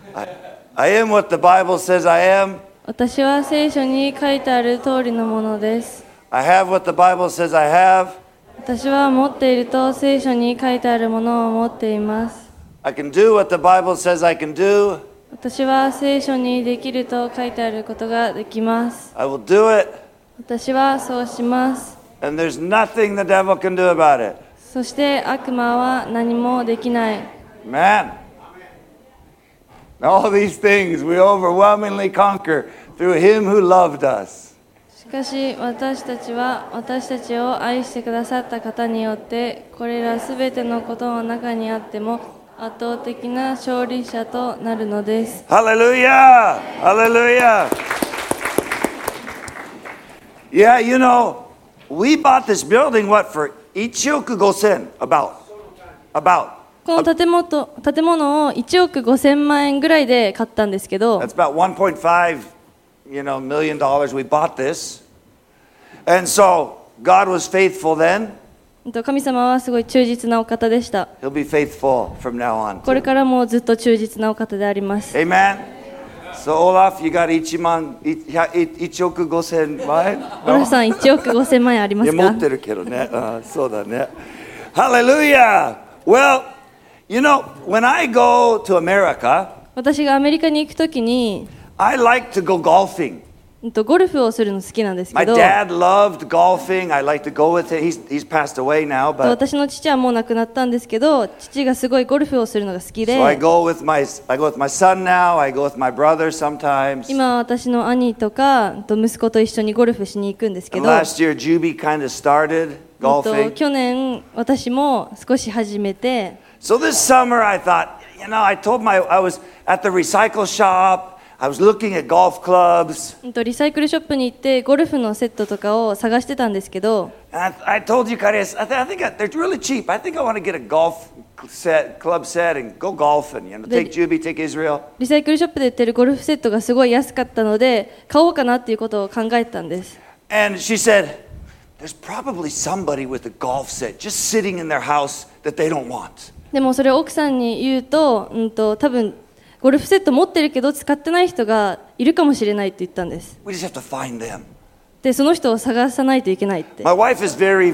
I am what the Bible says I am. 私は聖書に書いてある通りのものです。 I have what the Bible says I have. 私は持っていると聖書に書いてあるものを持っています。 I can do what the Bible says I can do. 私は聖書にできると書いてあることができます。 I will do it. 私はそうします。 And there's nothing the devil can do about it. そして悪魔は何もできない。 Man. All these things we overwhelmingly conquer through him who loved us. しかし私たちは私たちを愛してくださった方によってこれらすべてのことの中にあっても圧倒的な勝利者となるのです。 Hallelujah! Hallelujah! Yeah, you know, we bought this building, what, for 1億5,000? About. この建物を1億5,000万円ぐらいで買ったんですけど、 That's about 1.5, million dollars. We bought this. And so, God was faithful then. 神様はすごい忠実なお方でした。 He'll be faithful from now on. これからもずっと忠実なお方であります。 Amen. So, Olaf, you got 1億5,000万円? オラフさん1億5,000万円ありますか？ いや持ってるけどね。そうだね。Hallelujah! Well, when I go to America, 私がアメリカに行くときに I like to go golfing. ゴルフをするの好きなんですけ My ど、 dad loved golfing. I like to go with it. He's passed away now, but 私の父はもう亡くなったんですけど、父がすごいゴルフをするのが好きで、 so I go with my son now. I go with my brother sometimes. 今は私の兄とか息子と一緒にゴルフしに行くんですけ And ど、 last year, Juby kind of started golfing. 去年私も少し始めて、 So this summer, I thought, I was at the recycle shop. I was looking at golf clubs. リサイクルショップに行ってゴルフのセットとかを探してたんですけど、 And I told you, Karius, I think they're really cheap. I think I want to get a golf club set and go golfing. Take Juby, take Israel. リサイクルショップで売ってるゴルフセットがすごい安かったので買おうかなっていうことを考えたんです。 And she said, there's probably somebody with a golf set just sitting in their house that they don't want. でもそれを奥さんに言うと、多分ゴルフセット持ってるけど使ってない人がいるかもしれないって言ったんです。 We just have to find them. で、その人を探さないといけないって。 My wife is very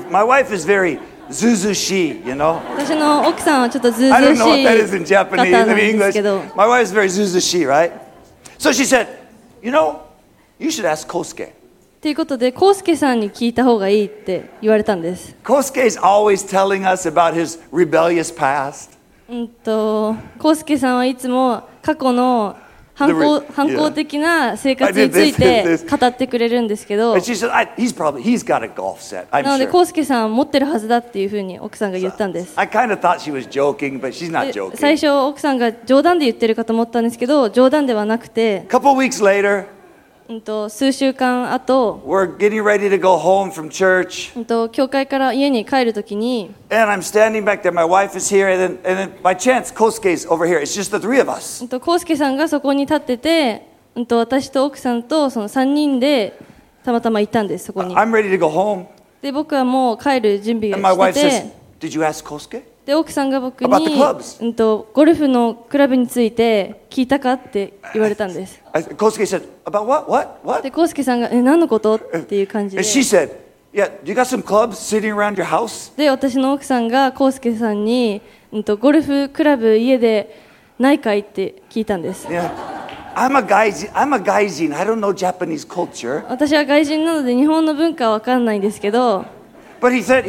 zuzushi, 私の奥さんはちょっとずうず I う don't し know what that い is in 方 Japanese, なん in です English. けど、 My wife is very zuzushi, right? So she said, you should ask Kosuke. ということで、コウスケさんに聞いた方がいいって言われたんです。 Kosuke is always telling us about his rebellious past. コウスケさんはいつも過去の反抗的な生活について語ってくれるんですけど、 And she said, he's got a golf set, I'm なので sure. コウスケさん持ってるはずだっていうふうに奥さんが言ったんです。 I kind of thought she was joking, but she's not で joking. 最初奥さんが冗談で言ってるかと思ったんですけど、冗談ではなくて、 A couple weeks later, 数週間後、 we're getting ready to go home from church. 教会から家に帰るときに、 And I'm standing back there. My wife is here, and then by chance, Kosuke's over here. It's just the three of us. コウスケさんがそこに立ってて、私と奥さんとその3人でたまたまいたんです、そこに。 I'm ready to go home. で、僕はもう帰る準備 And my を wife して says, て、 did you ask Kosuke? で、奥さんが僕 About the に clubs?、 ゴルフのクラブについて聞いたかって言われたんです。 Kosuke said, about what? で、コウスケさんが何のことっていう感じで。 And she said, yeah, do you got some clubs sitting around your house? で、私の奥さんがコウスケさんに、ゴルフクラブ家でないかいって聞いたんです。 Yeah. I'm a gaijin. I don't know Japanese culture. 私は外人なので日本の文化は分かんないんですけど、 But he said,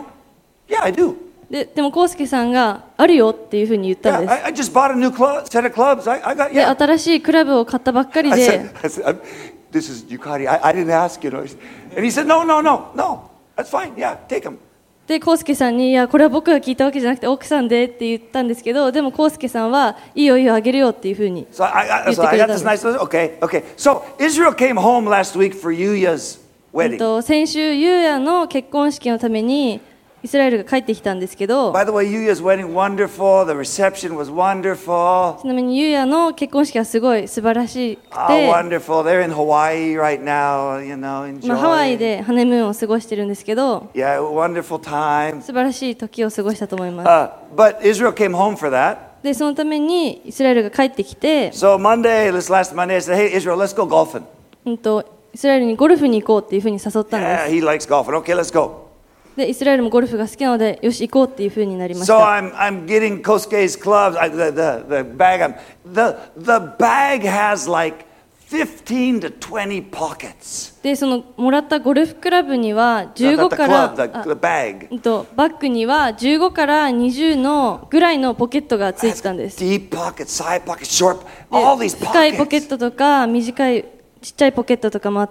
yeah, I do. でもコウスケさんがあるよっていうふうに言ったん Yeah, です。 I just bought a new set of clubs. I got, で、 yeah. 新しいクラブを買ったばっかり I で、 said, this is Yukari. I didn't ask, And he said, no. That's fine. Yeah, take them. で、コウスケさんに、いや、これは僕が聞いたわけじゃなくて奥さんでって言ったんですけど、でもコウスケさんはいいよあげるよっていうふうに So I 言ってくれ got たん this です。 nice. Okay. So Israel came home last week for Yuya's wedding. 先週ユーヤの結婚式のためにイスラエルが帰ってきたんですけど、 By the way, Yuya's wedding wonderful. The reception was wonderful. ちなみにユーヤの結婚式はすごい素晴らしく Oh, て、 wonderful. They're in Hawaii right now. Enjoy. ハワイでハネムーンを過ごしてるんですけど、 Yeah, wonderful time. 素晴らしい時を過ごしたと思います。 But Israel came home for that. でそのためにイスラエルが帰ってきて、 So this last Monday, I said, "Hey, Israel, let's go golfing." イスラエルにゴルフに行こうっていうふうに誘ったんで Yeah, す。 he likes golfing. Okay, let's go. でイスラエルもゴルフが好きなので、よし行こうっていうふうになりまし So た。 I'm getting Kosuke's clubs. The bag. The bag has like 15 to 20 pockets. でそのもらったゴルフクラブには15 The から club, the bag. バッグには15から20のぐらいのポケットがついてたんです。 Deep pockets, side pockets, short. All で these 深いポケ pockets. ットとか短いちっちゃいポケットとかもあって、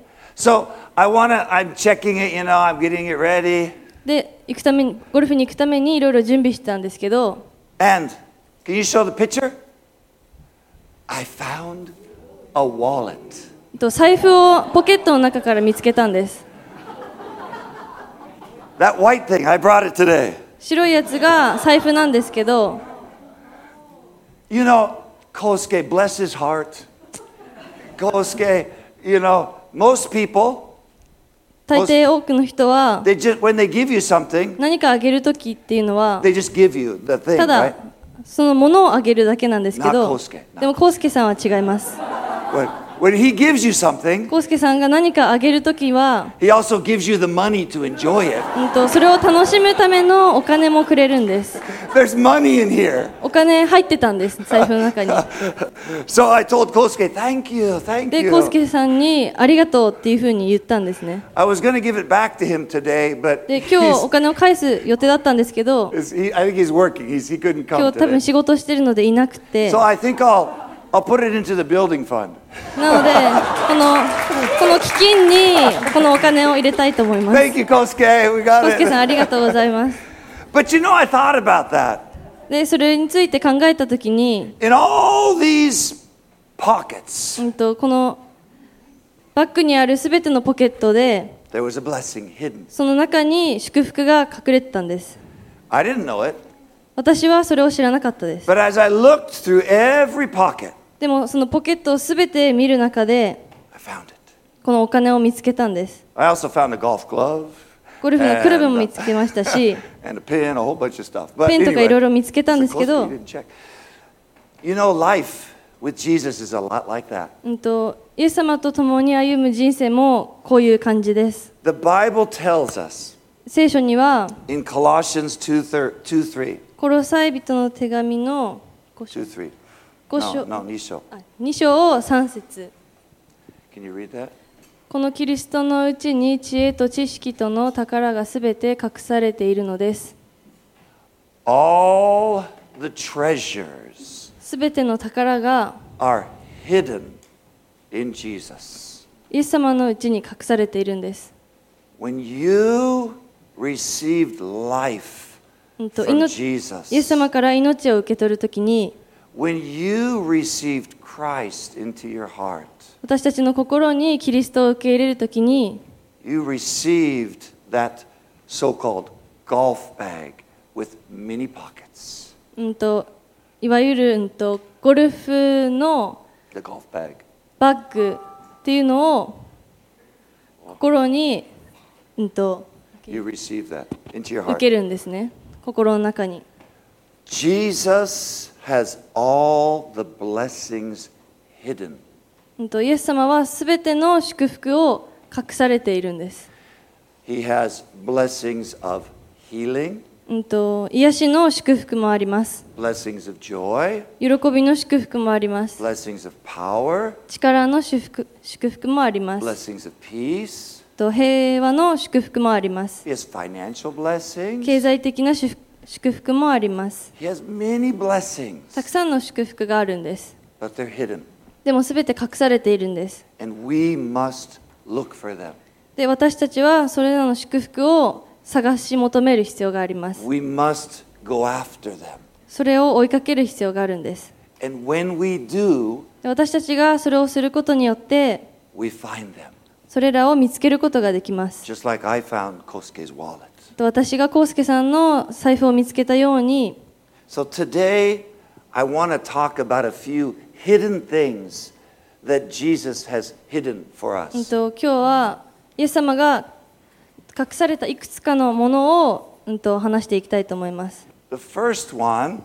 So I'm checking it. I'm getting it ready. で行くためにゴルフに行くためにいろいろ準備してたんですけど、 And can you show the picture? I found a wallet. 財布をポケットの中から見つけたんです。 That white thing, I brought it today. 白いやつが財布なんですけど、 You know, Kosuke, bless his heart. Kosuke, most people, 大抵多くの人は when they give you something, 何かあげるときっていうのは they just give you the thing, た right? だそのものをあげるだけなんですけ Not ど、 Kosuke. でも康介さんは違います。 When he gives you something, 康介さんが何かあげるときは、 he also gives you the money to enjoy it. それを楽しむためのお金もくれるんです。 There's money in here. お金入ってたんです、財布の中に。 So I told Kosuke, thank you, thank で、 you. 康介さんにありがとうっていうふうに言ったんですね。 I was going to give it back to him today, but で、今日お金を返す予定だったんですけど、 I think he's working. He couldn't 今 come 日多分 today. 仕事してるのでいなくて、 So I think I'll put it into the building fund. なのでこの基金にこのお金を入れたいと思います。 Thank you, Kosuke. We got 康介さん it. ありがとうございます。 But I thought about that. で、それについて考えたときに、 In all these pockets, このバッグにあるすべてのポケットで、 there was a blessing hidden. その中に祝福が隠れてたんです。 I didn't know it, 私はそれを知らなかったです。 but as I looked through every pocket, でもそのポケットをすべて見る中で、 I found it. このお金を見つけたんです。 I also found a golf glove ゴルフのクラブも見つけましたし、 and a pen, a whole bunch of stuff. But ペンとかいろい anyway, ろ見つけたんですけ Kosuke ど、 didn't check. Life with Jesus is a lot like that. イエス様と共に歩む人生もこういう感じです。 The Bible tells us 聖書には in Colossians 2:3, コロサイ人の手紙の5章 2:3. 5章 No, 2章. 2章を3節、 Can you read that? このキリストのうちに知恵と知識との宝がすべて隠されているのです。 All the treasures すべての宝が are hidden in Jesus. イエス様のうちに隠されているんです。 When you received life イ from エ Jesus, ス様から命を受け取るときに、 when you received Christ into your heart, 私たちの心にキリストを受け入れるときに、 you received that so-called golf bag with many pockets. いわゆる、ゴルフの The golf bag. バッグっていうのを心に、 You receive that into your 受 heart. けるんですね。心の中に。 Jesus has all the blessings hidden. イエス様はすべての祝福を隠されているんです。 He has blessings of healing, 癒しの祝福もあります。 blessings of joy, 喜びの祝福もあります。 blessings of power, 力の祝福もあります。 blessings of peace. 平和の祝福もあります。 He has financial blessings. 経済的な祝福もあります。 He has many blessings, たくさんの祝福があるんです。 but they're hidden, でもすべて隠されているんです。 and we must look for them. で、私たちはそれらの祝福を探し求める必要があります。 We must go after them. それを追いかける必要があるんです。 And when we do, で、私たちがそれをすることによって、 we find them. それらを見つけることができます。 Just like I found Kosuke's wallet. 私が康介さんの財布を見つけたように、 So today, I want to talk about a few hidden things that Jesus has hidden for us. 今日はイエス様が隠されたいくつかのものを、話していきたいと思います。 The first one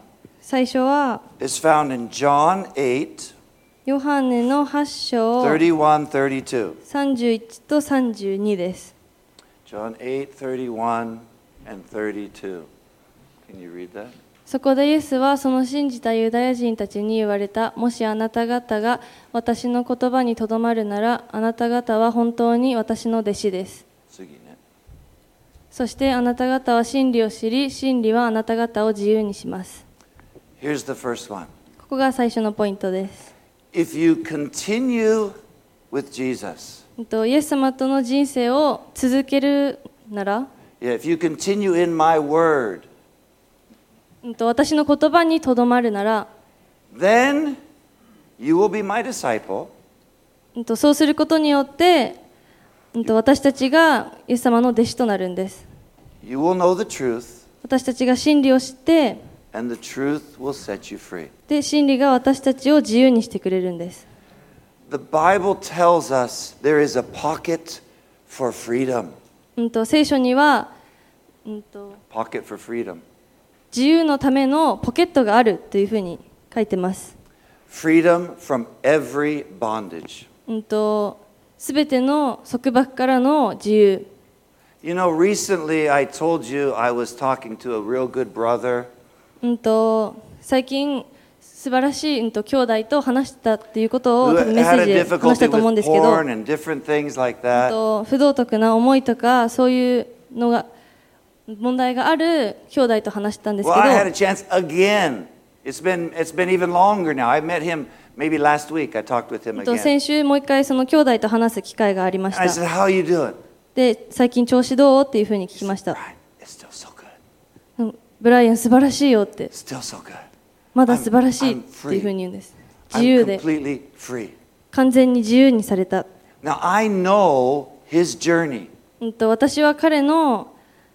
最初は is found in John 8, ヨハネの8章 31, 32. 31と32です。 John 8, 31 and 32. Can you read that? そこでイエスはその信じたユダヤ人たちに言われた。もしあなた方が私の言葉にとどまるなら、あなた方は本当に私の弟子です。 次ね。 そしてあなた方は真理を知り、真理はあなた方を自由にします。 Here's the first one. ここが最初のポイントです。 If you continue with Jesus, イエス様との人生を続けるなら、 if you continue in my word, 私の言葉にとどまるなら、 then you will be my disciple. そうすることによって、私たちがイエス様の弟子となるんです。 You will know the truth, 私たちが真理を知って、 and the truth will set you free. で、真理が私たちを自由にしてくれるんです。 The Bible tells us there is a pocket for freedom. 聖書には、 Pocket for freedom. 自由のためのポケットがあるというふうに書いてます。 Freedom from every bondage. すべての束縛からの自由。 You know, recently I told you I was talking to a real good brother. 最近素晴らしい、兄弟と話したっていうことを who 多分メッセ had ー a ジで話し difficulty たと思うん with ですけど、 porn and different things like that. 不道徳な思いとかそういうのが問題がある兄弟と話したんですけ Well, ど、 I had a chance again. It's been even longer now. I met him maybe last week. I talked with him again. 先週もう一回その兄弟と話す機会がありまし I た。 said, "How are you doing?" で、最近調子どうっていうふうに聞きました。 Brian, it's still so good. ブライアン素晴らしいよって、 Still so good. まだ素晴らしいっていうふうに言うんです。自 I'm 由で completely free. 完全に自由にされた。 Now I know his journey, 私は彼の、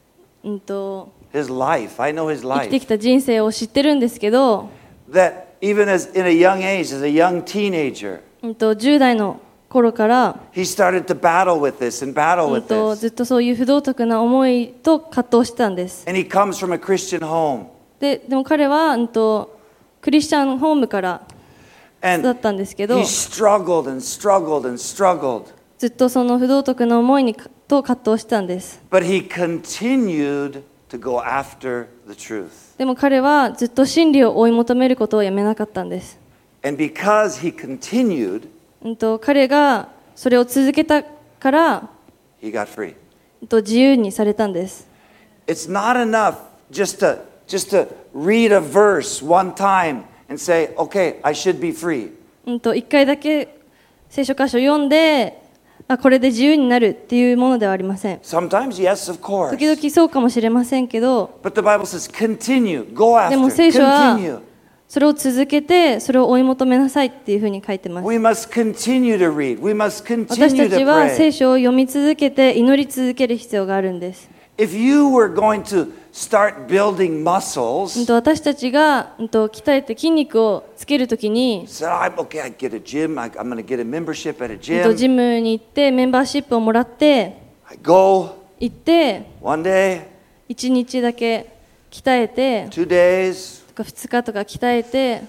his life. I know his 生きて life. きた人生を知ってるんですけど、 That even as in a young age, as a young teenager, 10代の頃から、 he started to battle with this and battle with ず this. っとそういう不道徳な思いと葛藤してたんです。 And he comes from a Christian home. でも彼は、クリスチャンホームからだ And ったんですけど、 he struggled and struggled and struggled. ずっとその不道徳な思いと葛藤してたんです。 But he continued to go after the truth. でも彼はずっと真理を追い求めることをやめなかったんです。 And because he continued, 彼がそれを続けたから、 he got free. 自由にされたんです。 It's not enough just to read a verse one time and say, okay, I should be free. 一回だけ聖書箇所を読んで、これで自由になるっていうものではありません。 Sometimes, yes, of course. 時々そうかもしれませんけど、 But the Bible says continue, go でも after, 聖書は continue. それを続けて、それを追い求めなさいっていうふうに書いてます。 We must continue to read. We must 私 continue たち to は聖 pray. 書を読み続けて祈り続ける必要があるんです。 If you were going to start building muscles, 私たちが鍛えて筋肉をつけるときに、 said, okay, I get a gym. I'm going to get a membership at a ジ gym. ムに行ってメンバーシップをもらって I go 行って one day, 1日だけ鍛えて 2 days, とか2日とか鍛えて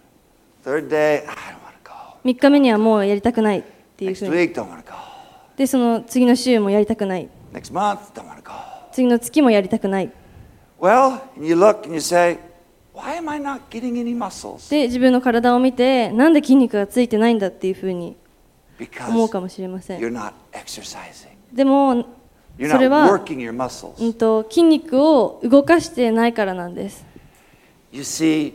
third day, I don't want to go. 3日目にはもうやりたくないっていう Next ふうに week, don't want to go. で、その次の週もやりたくない、 Next month, don't want to go. 次の月もやりたくない。 Well, and you look and you say, why am I not getting any muscles? で、自分の体を見てなんで筋肉がついてないんだっていうふうに思う Because かもしれません。 you're not exercising. でも You're それ not は、 working your muscles. 筋肉を動かしてないからなんです。 You see,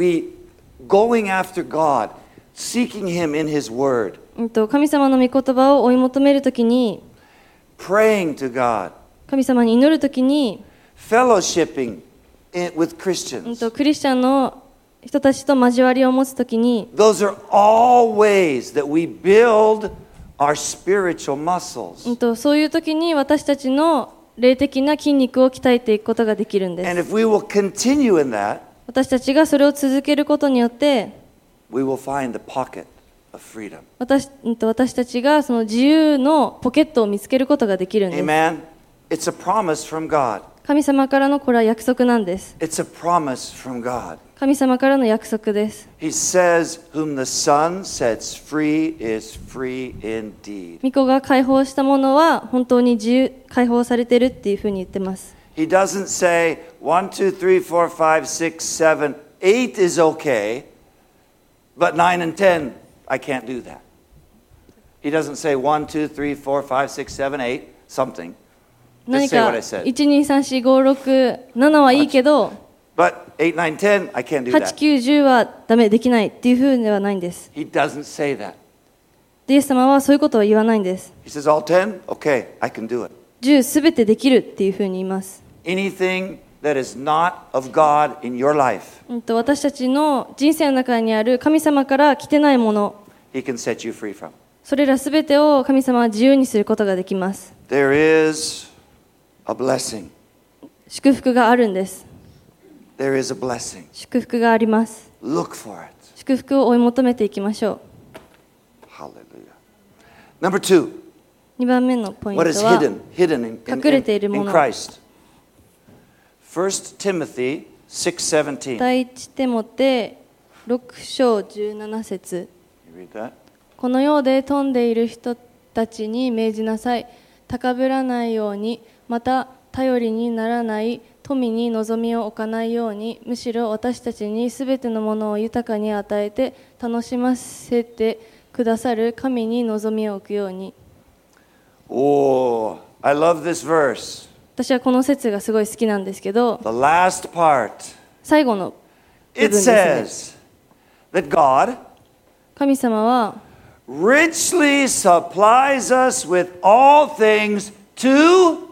going after God, seeking Him in His Word, 神様の御言葉を追い求めるときに、 praying to God, 神様に祈るときに、 fellowshipping with Christians. クリスチャンの人たちと交わりを持つときに、 Those are all ways that we build our spiritual muscles. そういうときに私たちの霊的な筋肉を鍛えていくことができるんで And す。 if we will continue in that, 私たちがそれを続けることによって、 we will find the pocket of freedom. 私たちがその自由のポケットを見つけることができるんです。 Amen. It's a promise from God. 神様からのこれは約束なんです。 It's a promise from God. 神様からの約束です。 He says, whom the Son sets free is free indeed. 御子が解放したものは本当に解放されているっていうふうに言ってます。 He doesn't say 1, 2, 3, 4, 5, 6, 7, 8 is okay, but 9 and 10, I can't do that. He doesn't say 1, 2, 3, 4, 5, 6, 7, 8, something. 何 Just say か what I said. 1、2、3、4、5、6、7はいいけど But 8, 9, 10, I can't do 8、 that. 9、10はダメできないっていうふうではないんです。 He doesn't say that. イエス様はそういうことは言わないんです。 He says, all 10? Okay, I can do it. 10すべてできるっていうふうに言います。 Anything that is not of God in your life, 私たちの人生の中にある神様から来てないもの、 He can set you free from. それらすべてを神様は自由にすることができます。 There is a blessing. 祝福があるんです。 There is a blessing. 祝福があります。 Look for it. 祝福を追い求めていきましょ Hallelujah. Number 2, う。2番目のポイント what is は hidden 隠れているも in の。 Christ? 1 Timothy 6:17. 第一テモテ6章17節 You read that? この世で富んでいる人たちに命じなさい。高ぶらないように、また頼りにならない富に望みを置かないように、むしろ私たちにすべてのものを豊かに与えて楽しませてくださる神に望みを置くように。 Oh, I love this verse. 私はこの説がすごい好きなんですけど、 The last part. 最後の部 It 分ですね。 says that God 神様は richly supplies us with all things to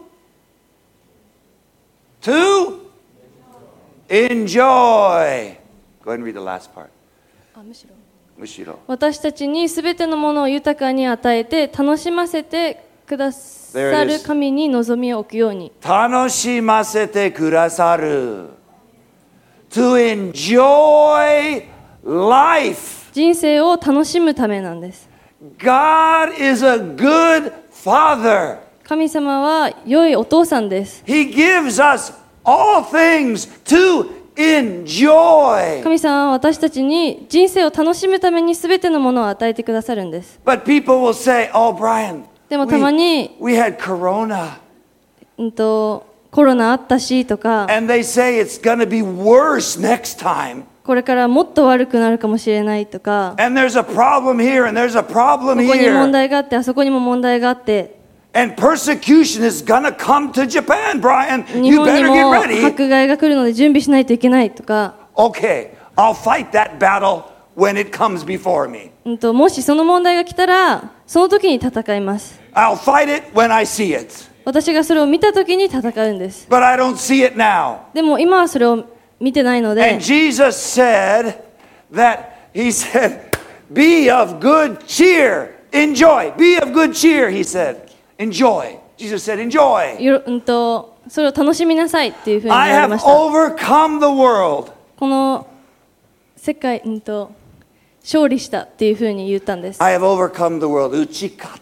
enjoy. Go ahead and read the last part. むしろ。 私たちにすべてのものを豊かに与えて楽しませてくださる神に望みを置くように。 楽しませてくださる。To enjoy life. 人生を楽しむためなんです。 God is a good father. 神様は良いお父さんです。 He gives us all things to enjoy. 神様は私たちに人生を楽しむためにすべてのものを与えてくださるんです。 But people will say, oh, Brian, でもたまに we had corona. コロナあったしとか、 And they say it's going to be worse next time. これからもっと悪くなるかもしれないとか、 And there's a problem here and there's a こ problem こに問 here. 題があってあそこにも問題があって、 And persecution is going to come to Japan, Brian. 日 You 本に better も get ready. 迫害が来るので準備しないといけないとか、 Okay, I'll fight that battle when it comes before me. もしその問題が来たらその時に戦います。 I'll fight it when I see it. 私がそれを見た時に戦うんです。 But I don't see it now. でも今はそれを見てないので、 And Jesus said that, he said, be of good cheer. Enjoy. Be of good cheer, he said. Enjoy. Jesus said, enjoy. それを楽しみなさいっていうふうに言 I われ have ました。 overcome the world. この世界、勝利したっていうふうに言ったんです。 I have overcome the world. Uchikata.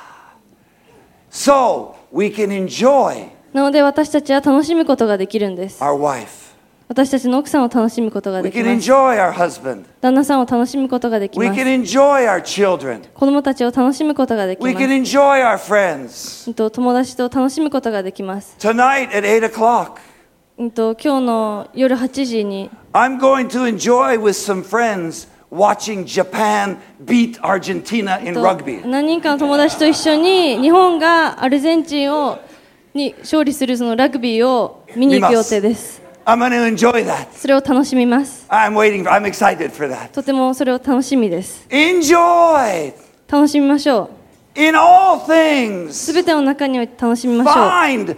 So we can enjoy なので私たちは楽しむことができるんです。 our wife. 私たちの奥さんを楽しむことが We でき can ます。 enjoy our husband. 旦那さんを楽しむことができ We ます。 can enjoy our children. 子供たちを楽しむことができま We す。 can enjoy our friends. 友達と楽しむことができます。 Tonight at 8 o'clock, 今日の夜8時に I'm going to enjoy with some friends watching Japan beat Argentina in rugby. 何人かの友達と一緒に日本がアルゼンチンに勝利するそのラグビーを見に行く予定です。 I'm going to enjoy that. それを楽しみます。 I'm excited for that. とてもそれを楽しみです。 Enjoy 楽しみましょう。 in all things. すべての中において楽しみましょう。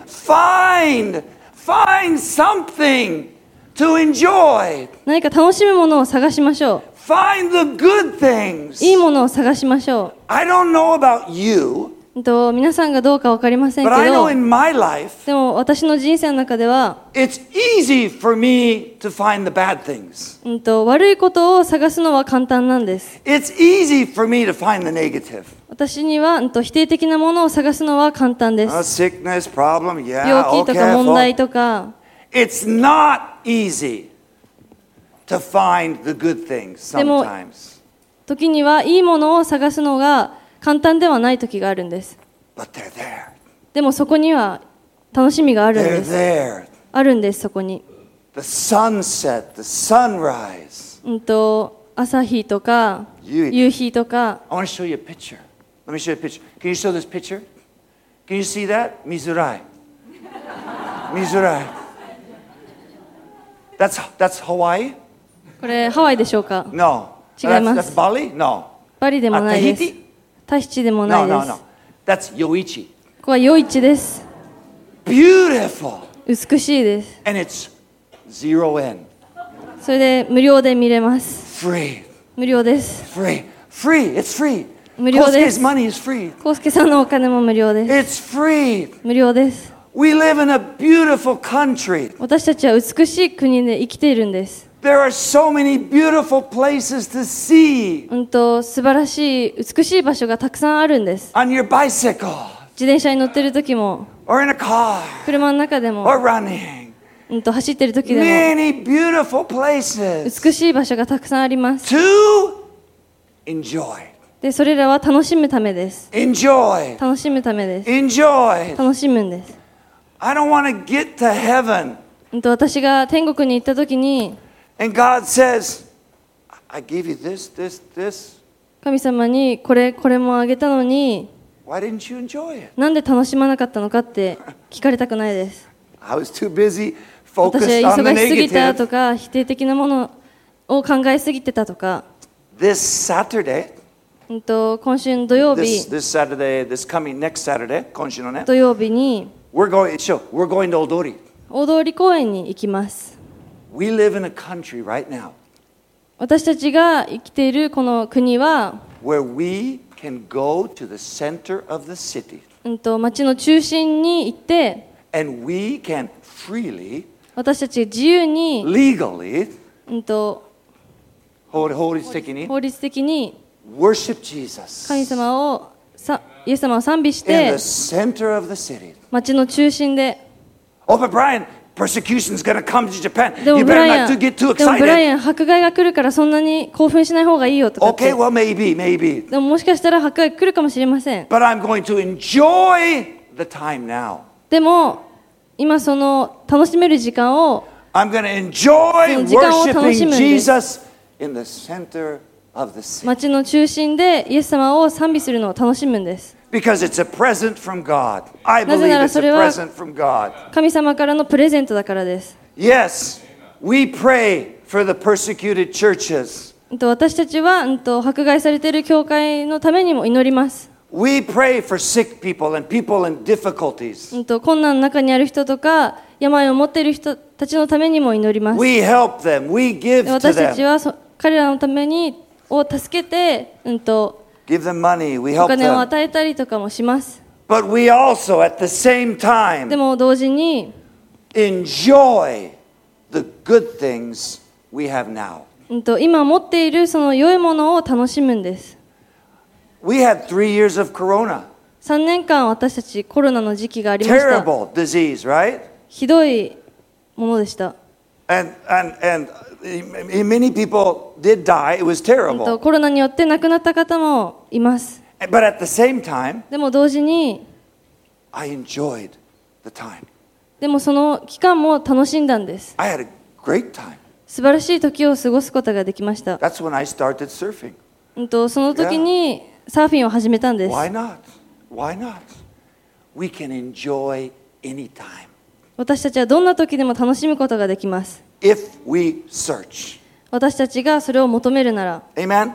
Find something to enjoy. 何か楽しむものを探しましょ Find the good う。 things. いいものを探しましょ I don't know about you, う。 皆さんがどうか分かりませんけ But I know ど、 in my life, でも私の人生の中では、 it's easy for me to find the bad things. 悪いことを探すのは簡単なんです。 It's easy for me to find the negative. 私には、否定的なものを探すのは簡単です。 Sickness, problem, yeah, 病気とか okay. 問題とか。 It's not easy to find the good things でも sometimes. 時にはいいものを探すのが簡単ではない時があるんです。 But they're there. でもそこには楽しみがあるん They're です。 there. あるんです、そこに。 The sunset, the sunrise. 朝日とか夕日とか。 I want to show you a picture. Let me show you a picture. Can you show this picture? Can you see that? Mizurai. Mizurai. That's Hawaii? これハワイでしょうか？ No. 違います That's Bali? No. バリでもないです。 Tahiti? タヒチでもな No, いで no, す。 no. That's Yoichi. ここは夜市です。 Beautiful. 美しいです。 And it's 0 yen. それで無料で見れます。 Free. 無料です。 Free. Free. It's free. 無料です Kosuke's money is free. コウスケさんのお金も無料です。 It's free. 無料です。 We live in a beautiful country. 私たちは美しい国で生きているんです。 There are so many beautiful places to see 素晴らしい美しい場所がたくさんあるんです。 on your bicycle 自転車に乗ってる時も or in a car 車の中で or も、 running. 走ってる時でも Many beautiful places 美しい場所がたくさんあります。 to enjoy. でそれらは楽しむためです。 Enjoy. 楽しむためです。 Enjoy. 楽しむんです。 I don't want to get to heaven 私が天国に行った時に and God says, I gave you this, this, this. 神様にこれもあげたのに Why didn't you enjoy it? なんで楽しまなかったのかって聞かれたくないです。 I was too busy 私 focused は on the 忙しすぎた negative. とか否定的なものを考えすぎてたとか、 This Saturday, 今週の土曜日 this Saturday, this coming next Saturday, 今週のね、 土曜日に we're going to Odori. 大通公園に行きます。 We live in a country right now 私たちが生きているこの国は、 where we can go to the center of the city 町の中心に行って、 and we can freely, 私たち自由に、 legally, 法律的に worship Jesus 神様をイエス様を賛美し in て the center of the city. 町の中心で。 Oh, but Brian, persecution is going to come to Japan. でも You ブ better ライア not ン get too でもブライ excited. アン迫害が来るからそんなに興奮しない方がいいよとかって。 Okay, well, maybe. でももしかしたら迫害来るかもしれません。 But I'm going to enjoy the time now. でも今その楽しめる時間を I'm going to enjoy 時間を楽しむ worshiping んです。 Jesus in the center of the city. 町の中心でイエス様を賛美するのを楽しむんです。 Because it's a present from God. I なぜ believe なら it's そ a れは present from God. 神様からのプレゼントだからです。 Yes, we pray for the persecuted churches. 私たちは迫害されている教会のためにも祈ります。 We pray for sick people and people in difficulties. 困難の中にある人とか病を持っている人たちのためにも祈ります。 We help them. We give で to 私たち them. は彼らのためにを助けて、 Give them money. We お help 金を them. 与えたりとかもします。 But we also, at the same で time, も同時に enjoy the good things we have now. 今持っているその良いものを楽しむんです。 We had 3 years of corona. 3年間私たちコロナの時期がありました。 Terrible disease, right? ひどいものでした。 And many people did die. It was terrible. コロナによって亡くなった方もいます。 But at the same time, でも同時に I enjoyed the time. でもその期間も楽しんだんです。 I had a great time. 素晴らしい時を過ごすことができました。 That's when I started surfing. その時にサーフィンを始めたんです。 Why not? Why not? We can enjoy any time 私たちはどんな時でも楽しむことができます。 if we search. 私たちがそれを求めるなら。 Amen?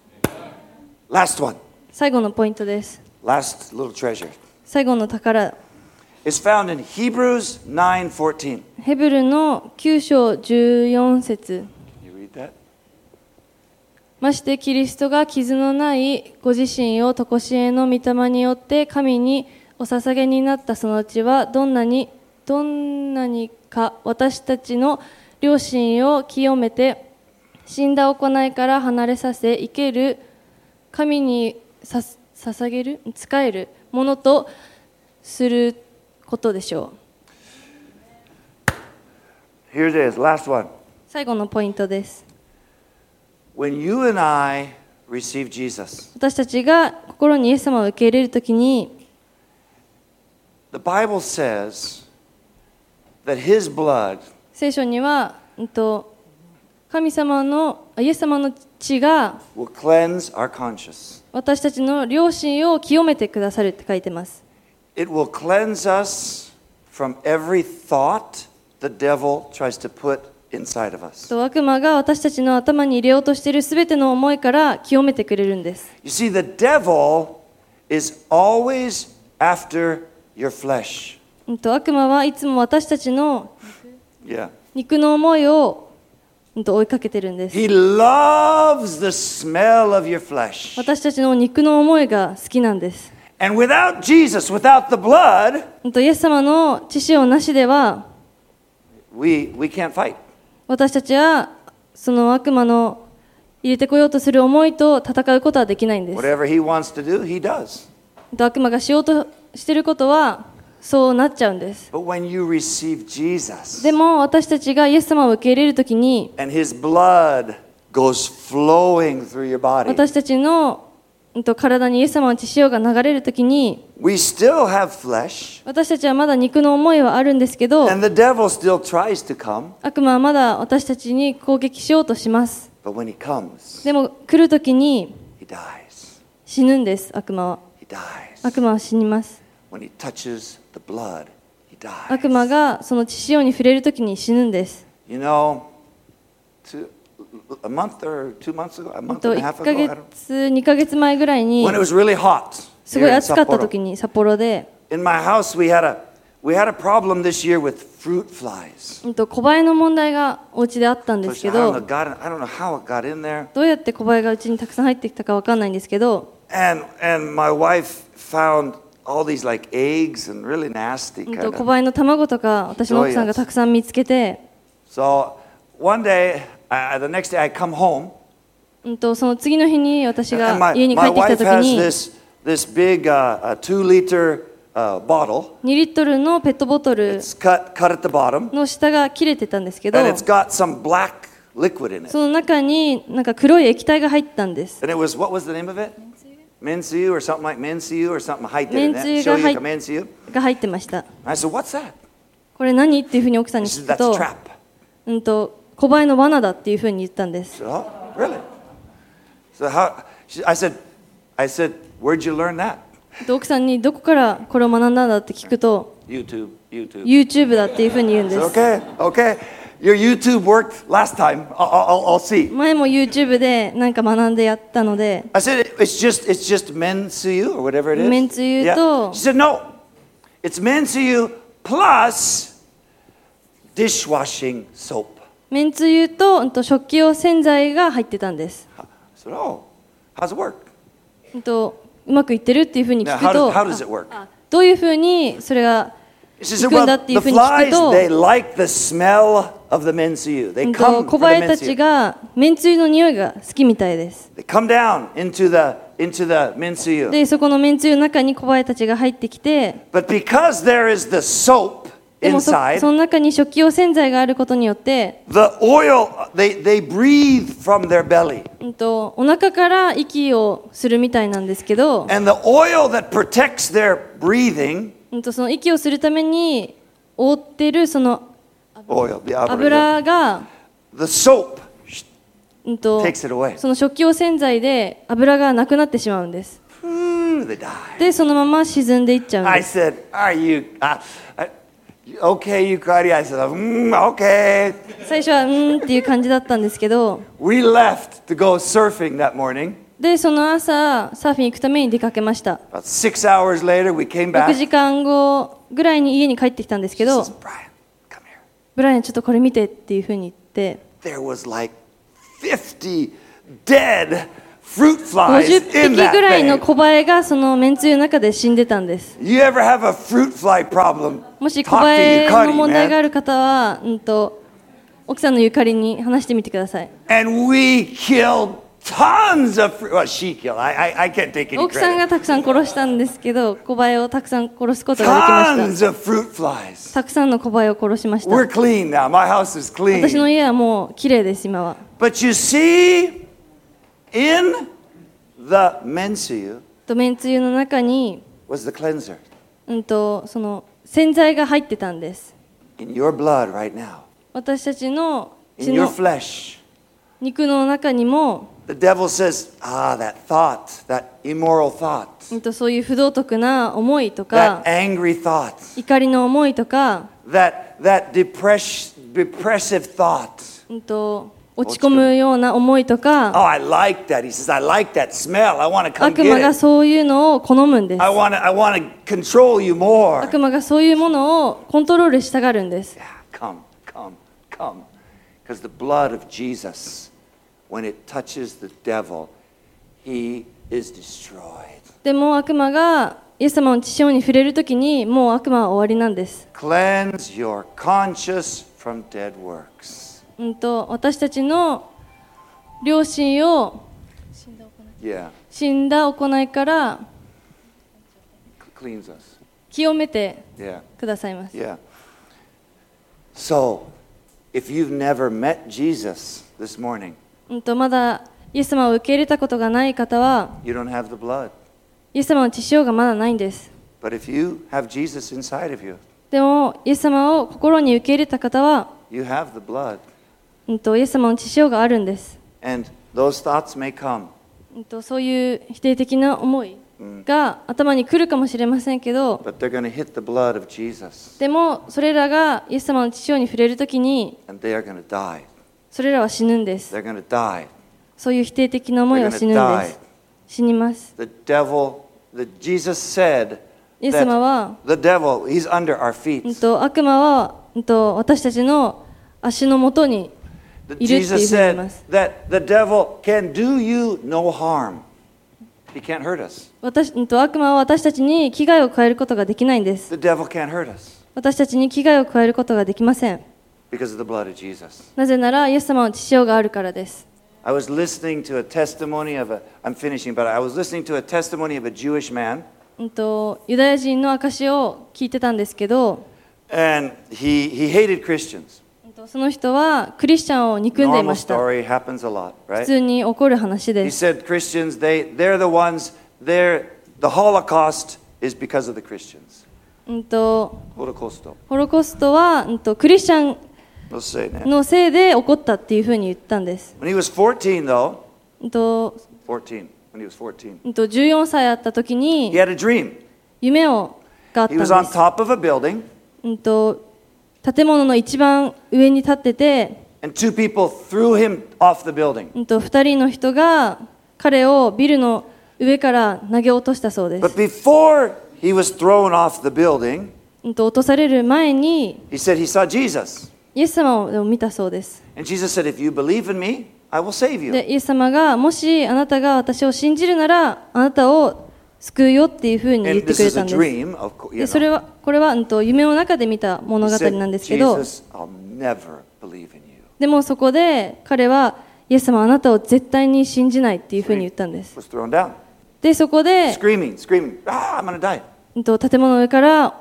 Last one. 最後のポイントです。 Last little treasure. 最後の宝。 It's found in Hebrews 9:14. ヘブルの9章14節。 You read that? ましてキリストが傷のないご自身を常しえの御霊によって神にお捧げになったその地はどんなにか私たちの良心を清めて死んだ行いから離れさせ生ける神に捧げる仕えるものとすることでしょう。Here it is, last one. 最後のポイントです。 When you and I receive Jesus, 私たちが心にイエス様を受け入れるときに、 the Bible says that His blood 聖書には、神様のイエス様の血が will cleanse our conscience. 私たちの良心を清めてくださるって書いてます。 It will cleanse us from every thought the devil tries to put inside of us. 悪魔が私たちの頭に入れようとしているすべての思いから清めてくれるんです。 You see, the devil is always after your flesh. 悪魔はいつも私たちの Yeah. 肉の思いを追いかけてるんです。 He loves the smell of your flesh. 私たちの肉の思いが好きなんです。 And without Jesus, without the blood, イエス様の血潮なしでは we can't fight. 私たちはその悪魔の入れてこようとする思いと戦うことはできないんです。 Whatever he wants to do, he does. 悪魔がしようとしていることはそうなっちゃうんです。 But when you receive Jesus, でも私たちがイエス様を受け入れるときに、 and his blood goes flowing through your body, 私たちの体にイエス様の血潮が流れるときに、 we still have flesh, 私たちはまだ肉の思いはあるんですけど、 and the devil still tries to come. 悪魔はまだ私たちに攻撃しようとします。 But when he comes, でも来るときに he dies. 死ぬんです。悪魔は He dies. 悪魔は死にます。 When he touches the blood, he dies. 悪魔がその血潮に触れるときに死ぬんです。 You know, a month or 2 months ago, a month and a half 1ヶ ago, I don't know. 月、2ヶ月前ぐらいに When it was really hot すご here い in 暑かったと Sapporo. きに札幌で、 In my house, we had a problem this year with fruit flies. 小映えの問題がお家であったんです So け I don't ど、 know, I don't know how it got in there. どうやって小映えがうちにたくさん入ってきたかわかんないんですけど、 And my wife found all these like eggs and really nasty kind 小 of. 映えの卵とか私の奥さんがたくさん見つけて、 So one day, the next day I come home, その次の日に私 and が家に帰 my ってきた wife とき has に、 this big 2-liter bottle. 2リットルのペットボトル It's cut at the bottom, の下が切れてたんですけど、 and it's got some black liquid in it. その中になんか黒い液体が入ったんです。 And it was, what was the name of it? Mensuyu or something like Mensuyu or something 入ってるね。 めんつゆが入っ Mensuyu. が入ってました。 I said, what's that? これ何っていうふうに奥さんに She 聞 said, く that's と、 trap. 小映えの罠だっていうふうに言ったんです。 I said, oh, really? So I said, where'd you learn that? 奥さんにどこからこれを学んだんだって聞くと、 YouTube. だっていうふうに言うんで I す。 said, okay. Your YouTube worked last time. I'll see. 前も YouTube でなんか学んでやったので、 I said, it's just Mensuyu or whatever it is. めんつゆ Yeah. と She said, no. It's Mensuyu plus dishwashing soap. めんつゆと食器用洗剤が入ってたんです。 I said, oh, how's it work? うまくいってるっていうふうに Now, 聞くと、 how does it work? どういうふうにそれが She 行 said, くん well, だっていう the ふうに聞く flies, と、 they like the smell of the Mensuyu. They come 小 for 映 the えたち Mensuyu. がめんつゆの匂いが好きみたいです。 They come down into the Mensuyu. で、そこのめんつゆの中に小映えたちが入ってきて、 But because there is the soap でもそ inside, の中に食器用洗剤があることによって、 the oil, they breathe from their belly. お腹から息をするみたいなんですけど、 And the oil that protects their breathing, その息をするために覆ってるその oil, the 油が、 the soap takes it away. その食器用洗剤で油がなくなってしまうんです。 They die. で、そのまま沈んでいっちゃうん I です。 said, are you, okay, Yukari? I said, okay. 最初はっていう感じだったんですけど、 We left to go surfing that morning. で、その朝サーフィン行くために出かけました。 About 6 hours later, we came 6 back. 時間後ぐらいに家に帰ってきたんですけ She ど、 says, Brian, come here. ブライアンちょっとこれ見てっていうふうに言って、 There was like 50 dead fruit flies 50 in 匹 that ぐらいの thing. 小バエがそのめんつゆの中で死んでたんです。 You ever have a fruit fly problem? もし Talk 小バ to エ Yukari, の問題があ man. る方は、奥さんのゆかりに話してみてください。 And we killed tons of fruit. Well, she killed. I can't take any 奥さん credit. がたくさん殺したんですけど、小バエをたくさん殺すことができまし Tons of fruit flies. た。たくさんの小バエを殺しました。 We're clean now. My house is 私の clean. 家はもう綺麗です、今は。 But you see, in the mensuyu めんつゆの中に、 was the cleanser. その洗剤が入ってたんです。 In your blood right now. 私たちの In 血 your の flesh. 肉の中にも、 The devil says, that thought, that immoral thought, そういう不道徳な思いと that か、 angry thought, 怒りの思いとか、 that depressive thought. 落ち込むような思いと Oh, か、 I like that. He says, I like that smell. I want to come 悪魔 get が it. そういうのを好むんです。 I want to control you more. 悪魔がそういうものをコントロールしたがるんです。 Yeah, come. Because the blood of Jesus, when it touches the devil, he is destroyed. でも悪魔がイエス様の血潮に触れるときに、もう悪魔は終わりなんです。 Cleanse your conscience from dead works. 私たちの良心を Yeah, 死んだ行いから cleans us. 清めて Yeah, くださいます。 yeah. So, if you've never met Jesus this morning, まだイエス様を受け入れたことがない方は、 you don't have the blood. イエス様の血潮がまだないんです。 But if you have Jesus inside of you, でも、イエス様を心に受け入れた方は、 you have the blood. イエス様の血潮があるんです。 And those thoughts may come. そういう否定的な思いが頭に来るかもしれませんけど、 But they're going to hit the blood of Jesus. でもそれらがイエス様の血潮に触れるときに、 And they are going to die. それらは死ぬんです。 They're going to die. そういう否定的な思いは死ぬん They're gonna です。死にます。 The devil, Jesus said イエス様は、 that the devil, he's under our feet. 悪魔は、私たちの足のもとに That いるっていう Jesus ふうに言いま said す。 that the devil can do you no harm. He can't hurt us. 悪魔は私たちに危害を加えることができないんです。 The devil can't hurt us 私たちに危害を加えることができません。 because of the blood of Jesus. なぜならイエス様の血潮があるからです。 I was listening to a testimony of I'm finishing, but I was listening to a testimony of a Jewish man, ユダヤ人の証を聞いてたんですけど、 and he hated Christians. その人はクリスチャンを憎んでい Normal ました。 story, happens a lot, 普 right? 通に起こる話 He です。 said Christians, they're the ones, the Holocaust is because of the Christians. Holocaust. ホロコストはクリスチャン Let's say that. のせいで起こったっていうふうに言ったんです。 When he was 14, though, 14 when he was 14, 14歳あった時 he に had a dream. 夢があった He んで was on す。 top of a building, 建物の一番上に立ってて、 and two people threw him off the building. 2人の人が彼をビルの上から投げ落としたそうで But す。 before he was thrown off the building, 落とされる前に he said he saw Jesus. イエス様を見たそうです。 And Jesus said, if you believe in me, I will save you. で、イエス様がもしあなたが私を信じるならあなたを救うよっていうふうに言っ And て this くれ is た a んです。 dream, of course. で、これは夢の中で見た物 He 語 said, なんですけど、 Jesus, I'll never believe in you. でもそこで彼はイエス様あなたを絶対に信じないっていうふうに言ったんです。 Was thrown down, で、そこで screaming, I'm going to die. 建物の上から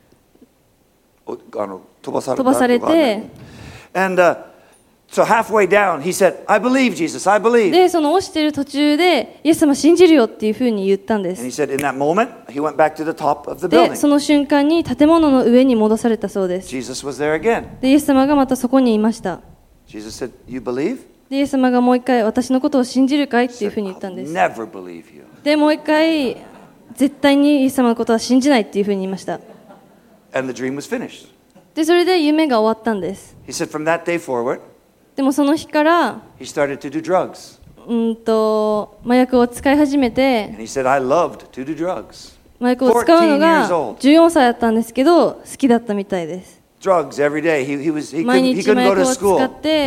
飛ばされた飛ばされて、 And so halfway down, he said, I believe, Jesus, I believe. で、その落ちてる途中でイエス様信じるよっていうふうに言ったんで And he す。 said, in that moment, he went back to the top of the で、 building. その瞬間に建物の上に戻されたそうです。 Jesus was there again. で、イエス様がまたそこにいました。 Jesus said, you believe? で、イエス様がもう一回私のことを信じるかいって He いうふう said, に言ったん I'll です。 never believe you. で、もう一回絶対にイエス様のことは信じないっていうふうに言いました。 And the dream was finished. で、それで夢が終わったんです。 He said, from that day forward, でもその日から he started to do drugs. 麻薬を使い始めて、 And he said, I loved to do drugs. 麻薬を使うのが 14 years old. 14歳だったんですけど好きだったみたいです。 Drugs every day. He 毎 couldn't 日 go 麻 to 薬を使 school. って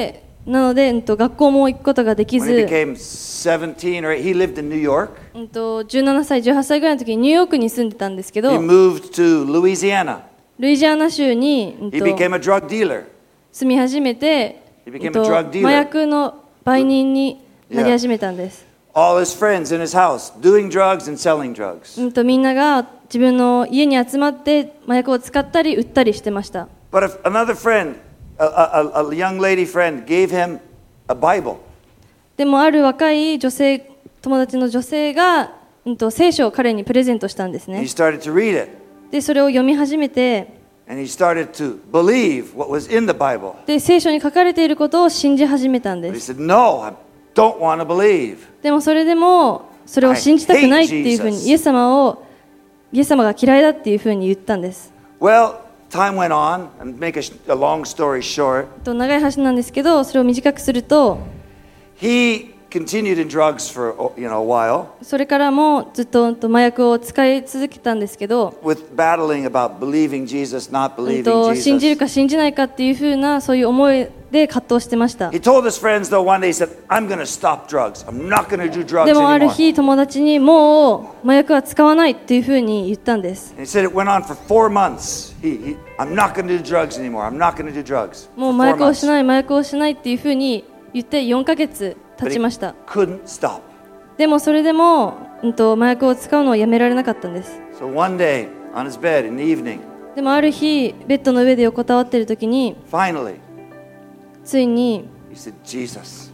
なので、学校も行くことができ When ず、 he became 17, or he lived in New York. 17歳、18歳ぐらいの時にニューヨークに住んでたんですけ He ど、 moved to Louisiana. ルイジアナ州に、 He became a drug dealer. 住み始めて、 He became a drug dealer. 麻薬の売人になり始めたんです。 All his friends in his house doing drugs and selling drugs. みんなが自分の家に集まって麻薬を使ったり売ったりしてました。 But if another friend, a young lady friend, gave him a Bible. でもある若い友達の女性が、聖書を彼にプレゼントしたんですね。 He started to read it. でそれを読み始めて、 And he started to believe what was in the Bible. で聖書に書かれていることを信じ始めたん But で he す。 said, No, I don't want to believe. でもそれでもそれを信じたくないっていうふう I hate に Jesus. イエス様が嫌いだっていうふうに言ったんです。 Well, time went on, and make a long story short, 長い話なんですけど、それを短くすると、 he continued in drugs for a while, それからもずっと麻薬を使い続けたんですけど、 with battling about believing Jesus, not believing 信じる Jesus. か信じないかっていうふうなそういう思いで葛藤してました。 He told his friends, though, one day, he said, I'm going to stop drugs. I'm not going to do drugs でもある anymore. 日友達にもう麻薬は使わないっていうふうに言ったんです。 And he said it went on for 4 months. I'm not going to do drugs anymore. I'm not going to do drugs. もう For 麻 4 薬を months. しない麻薬をしないっていうふうに言って4ヶ月経 But ち he ました。 couldn't stop. でもそれでも、麻薬を使うのをやめられなかったんです。 So one day, on his bed in the evening, でもある日ベッドの上で横たわっている時に finally, ついに he said, Jesus,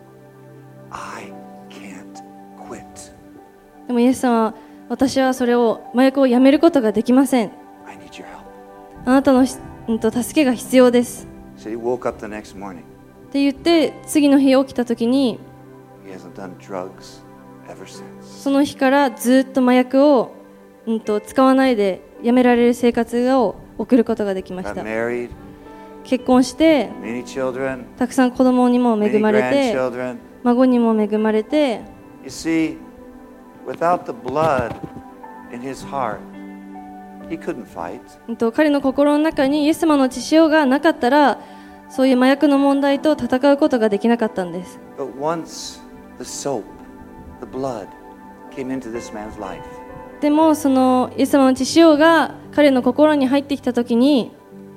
I can't quit. でもイエス様は、私はそれを麻薬をやめることができません。 I need your help. あなたの助けが必要です He said he woke up the next morning. って言って、次の日起きた時に He hasn't done drugs ever since. その日からずっと麻薬を、使わないでやめられる生活を送ることができまし Got た。 married, 結婚して many children, たくさん子供にも恵 many まれて、 grandchildren. 孫にも恵まれて、 You see, without the blood in his heart, he couldn't fight. 彼の心の中にイエス様の血潮がなかったら、そういう麻薬の問題と戦うことができなかったんです。 But once the soap, the blood, came into this man's life, でもそのイエス様の血潮が彼の心に入ってきた時に、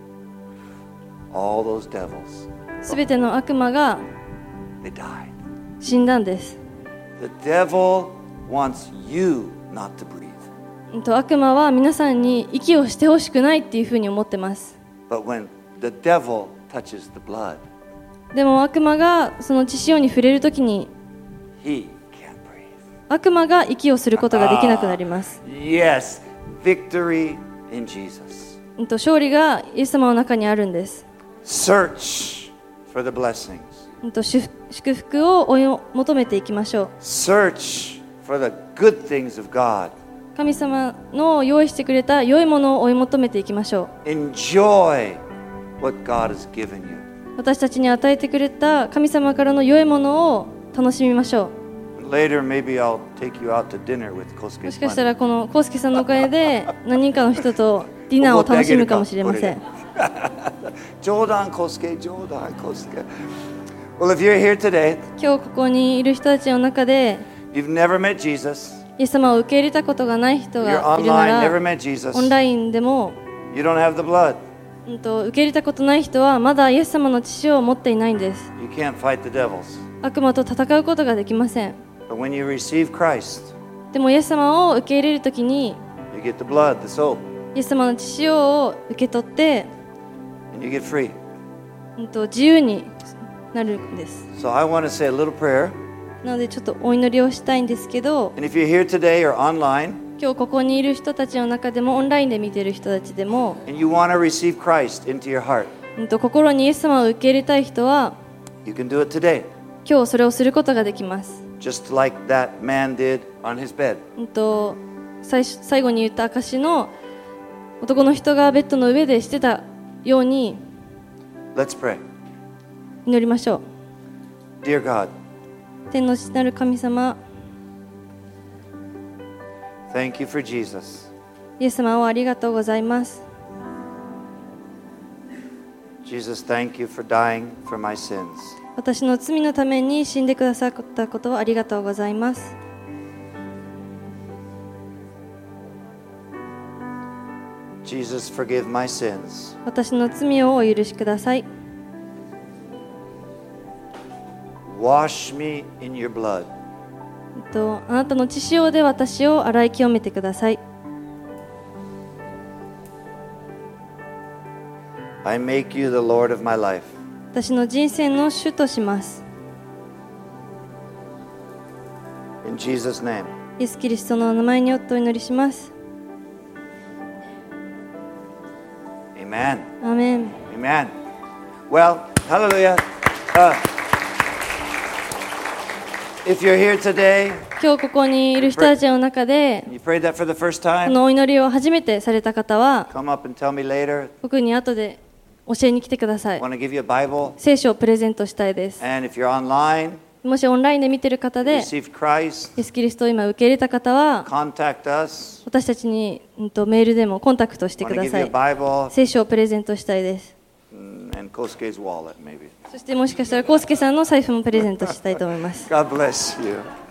all those devils, すべての悪魔が they died. 死んだんです。 The devil wants you not to breathe. 悪魔は皆さんに息をしてほしくないっていうふうに思ってます。 But when the devil touches the blood, でも悪魔がその血潮に触れるときに、 he can't breathe. 悪魔が息をすることができなくなります。 Yes, victory in Jesus. 勝利がイエス様の中にあるんです。 Search for the blessings. 祝福を追い求めていきましょう。 Search for the good things of God. 神様の用意してくれた良いものを追い求めていきましょう。 Enjoy what God has given you. 私たちに与えてくれた神様からの良いものを楽しみましょう。 Later, maybe I'll take you out to dinner with も Kosuke. しかしたらこのコウスケさんのおかげで何人かの人とディナーを楽しむかもしれません。 冗談Kosuke, 冗談Kosuke. Well, if you're here today, 今日ここにいる人たちの中で you've never met Jesus, イエス様を受け入れたことがない人 you're がいるな online, never ら、 met Jesus, オンラインでも、 you don't have the blood, 受け入れたことない人はまだイエス様の血潮を持っていないんです。 you can't fight the devils. 悪魔と戦うことができません。 But when you receive Christ, でもイエス様を受け入れるときに、 you get the blood, the soap, イエス様の血潮を受け取って、 and you get free. 自由になるんです。 So I want to say a little prayer. なのでちょっとお祈りをしたいんですけど、 And if you're here today or online, 今日ここにいる人たちの中でもオンラインで見ている人たちでも、 and you want to receive Christ into your heart, 心にイエス様を受け入れたい人は you can do it today, 今日それをすることができます。 just like that man did on his bed. 最後に言った証の男の人がベッドの上でしてたように Let's pray. 祈りましょう。 Dear God, 天の父なる神様、 thank you for Jesus. イエス様をありがとうございます。 Jesus, thank you for dying for my sins. 私の罪のために死んでくださったことをありがとうございます。 Jesus, forgive my sins. 私の罪をお許しください。 Wash me in your blood. あなたの血潮で私を洗い清めてください。 I make you the Lord of my life. 私の人生の主とします。 In Jesus' name. イエス・キリストの名前によってお祈りします。 Amen. アーメン。 Amen. Well, hallelujah. If you're here today, 今日ここにいる人たちの中で you prayed that for the first こ time, のお祈りを初めてされた方は come up and tell me later. 僕に後で教えに来てください。 I want to give you a Bible. 聖書をプレゼントしたいです。 And if you're online, もしオンラインで見てる方で received Christ, イエス・キリストを今受け入れた方は contact us. 私たちにメールでもコンタクトして I く want to だ give さ you a い。 Bible 聖書をプレゼントしたいです。 and Kosuke's wallet, maybe. そしてもしかしたらコウスケさんの財布もプレゼントしたいと思います。 God bless you.